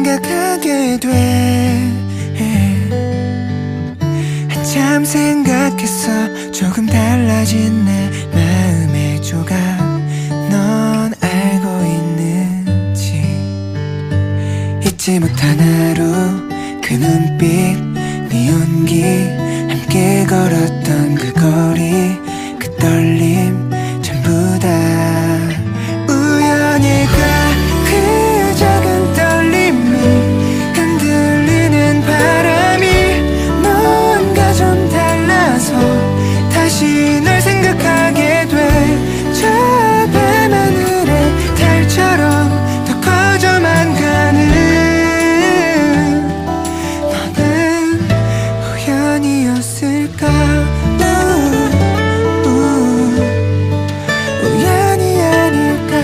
생각하게 돼. 한참 생각했어. 조금 달라진 내 마음의 조각. 넌 알고 있는지. 잊지 못한 하루, 그 눈빛, 네 온기, 함께 걸었던 그 거리, 그 떨림 전부 다 우연일까. 그 작은 떨림이 흔들리는 바람이 뭔가 좀 달라서 다시 널 생각하게 돼. 저 밤하늘의 달처럼 더 커져만 가는 너는 우연이었을까. 우연이 아닐까.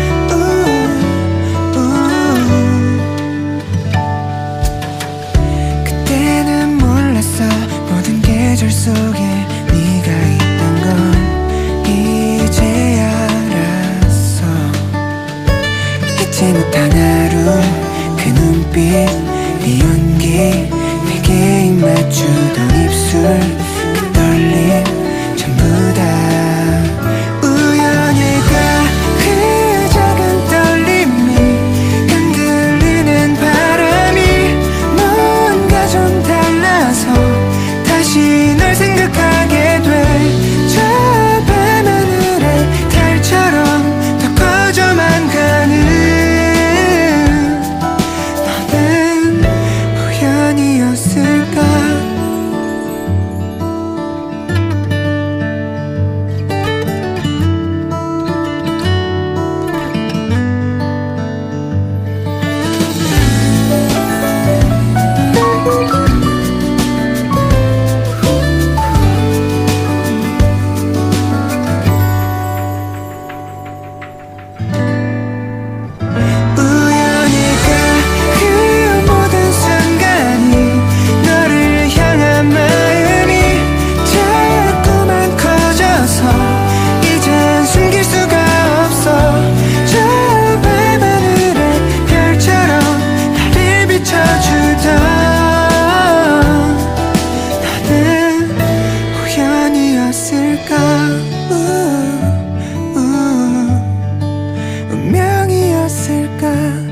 그때는 몰랐어. 모든 계절 속에 네가 있던 건 이제야 알았어. 잊지 못한 하루, 그 눈빛, 네 온기, 내게 입 맞추던 입술, 그 떨림 전부 다 우연일까. 그 작은 떨림이 흔들리는 바람이 뭔가 좀 달라서 다시 널 생각하게 돼. 저 밤하늘의 달처럼 더 커져만 가는 너는 우연이었을까. 운명이었을까.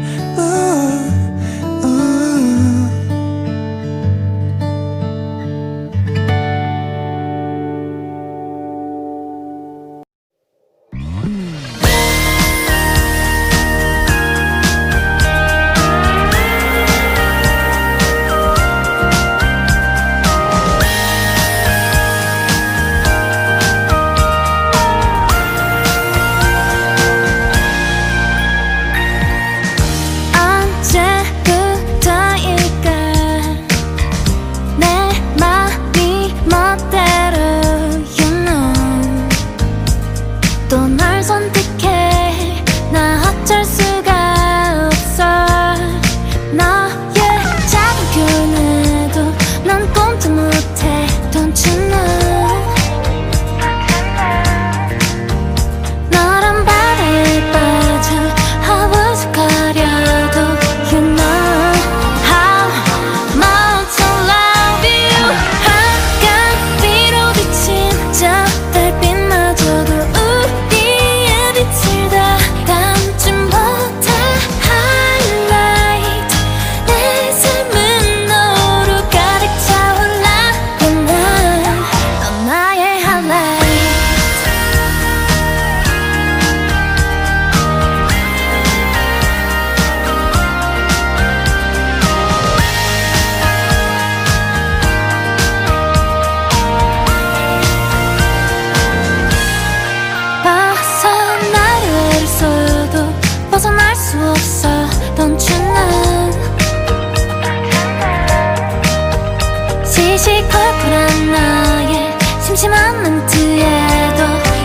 시시콜콜한 나의 심심한 멘트에도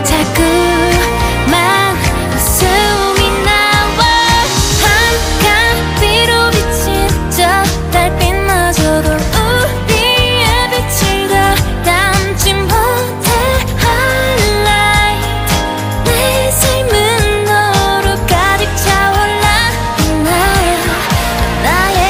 자꾸만 웃음이 나와. 한강 위로 비친 저 달빛마저도 우리의 빛을 다 담지 못해. highlight 내 삶은 너로 가득 차올라. 나의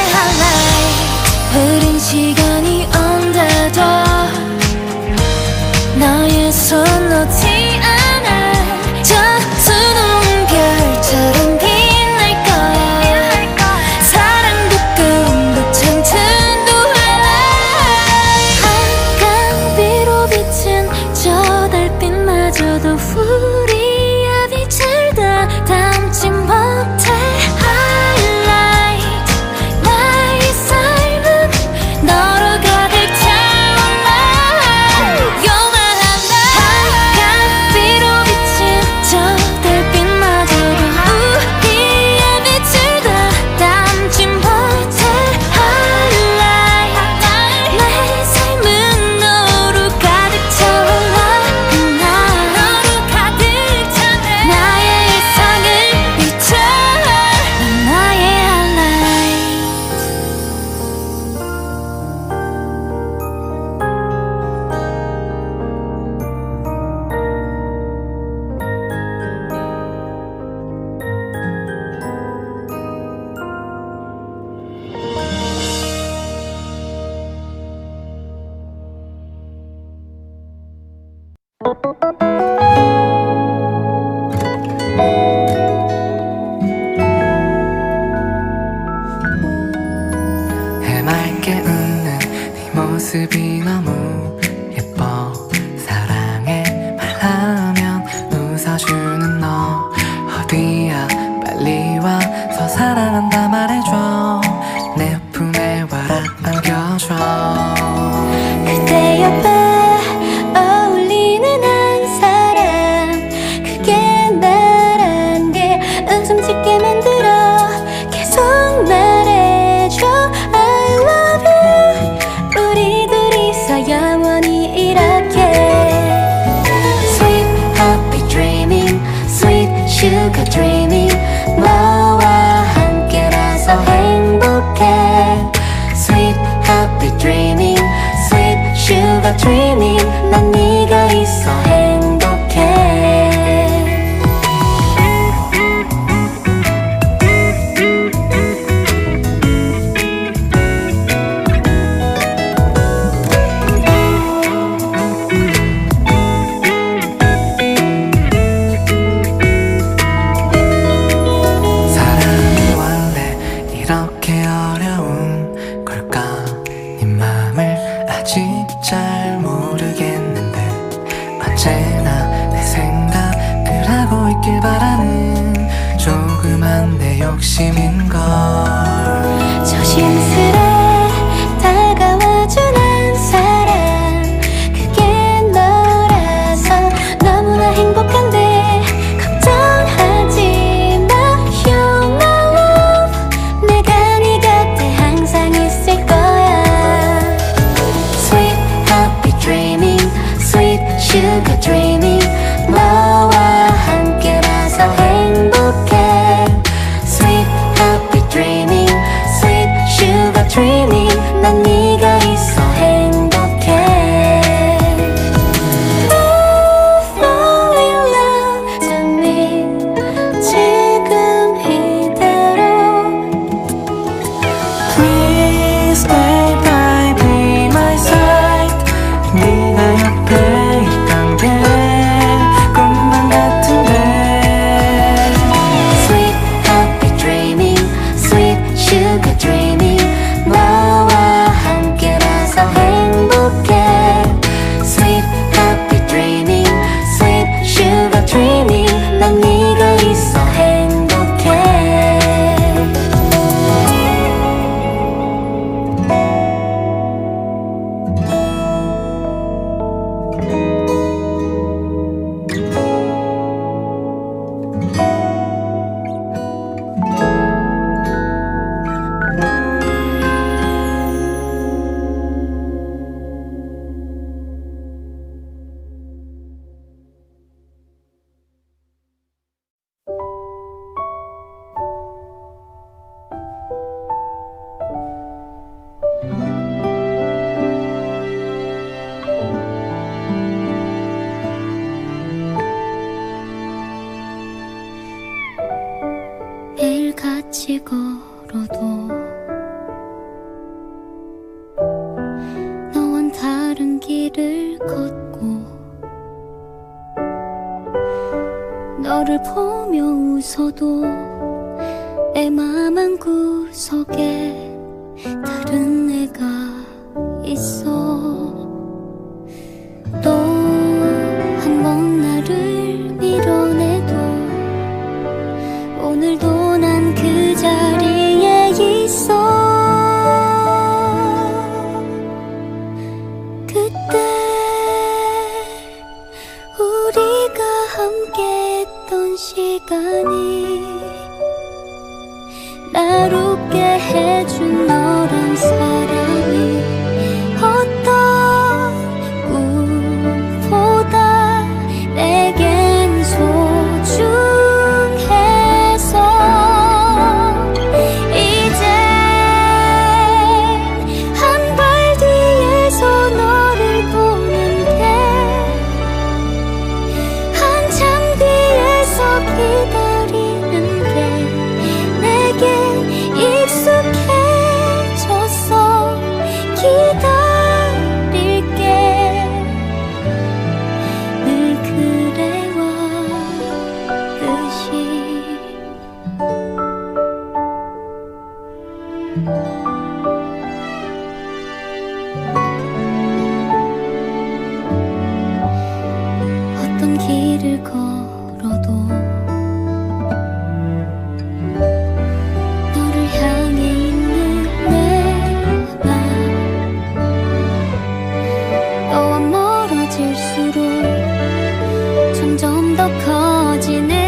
너 어디야 빨리 와서 사랑한다 말해줘 내 품에 와라 안겨줘 그대 옆에 어울리는 한 사람 그게 나란 게 웃음 짓게 만들어 계속 말해줘 I love you 우리 둘이서 영원히 이렇게 Sweet happy dreaming Sweet sugar dreaming 너와 함께라서 행복해 Sweet happy dreaming Sweet sugar dreaming 난 네가 있어 행복해 사랑이 원래 이렇게 어려운 걸까 네 맘을 아직 잘 모르겠는데 언제나 내 생각을 하고 있길 바라는 조그만 내 욕심인걸 조심스레 다가와준 한 사람 그게 너라서 너무나 행복한데 걱정하지 마 You're my love 내가 네 곁에 항상 있을 거야 Sweet happy dreaming Sweet sugar dreaming 너와 함께라서 행복해 Sweet happy dreaming Sweet sugar dreaming 난 네가 있어 행복해 Fall in love to me 지금 이대로 Please stay by be my side 네가 옆에 있단 게 꿈만 같은데 Sweet happy dreaming Sweet sugar dreaming 너와 함께라서 행복해 Sweet happy dreaming Sweet sugar dreaming 난 네가 있어 행복해 매일 같이 걸어도 너와는 다른 길을 걷고 너를 보며 웃어도 내 맘 한구석에 다른 애가 있어 또 한 번 나를 밀어내도 오늘도 난 그 자리에 있어 그때 우리가 함께 했던 시간이 날 웃게 해준 너란 사람이 어떤 꿈보다 내겐 소중해서 이젠 한 발 뒤에서 너를 보는데 한참 뒤에서 기다리는 게 내겐 익숙해졌어 기다릴게 늘 그래왔듯이 어떤 길을 걸어도 넘어지는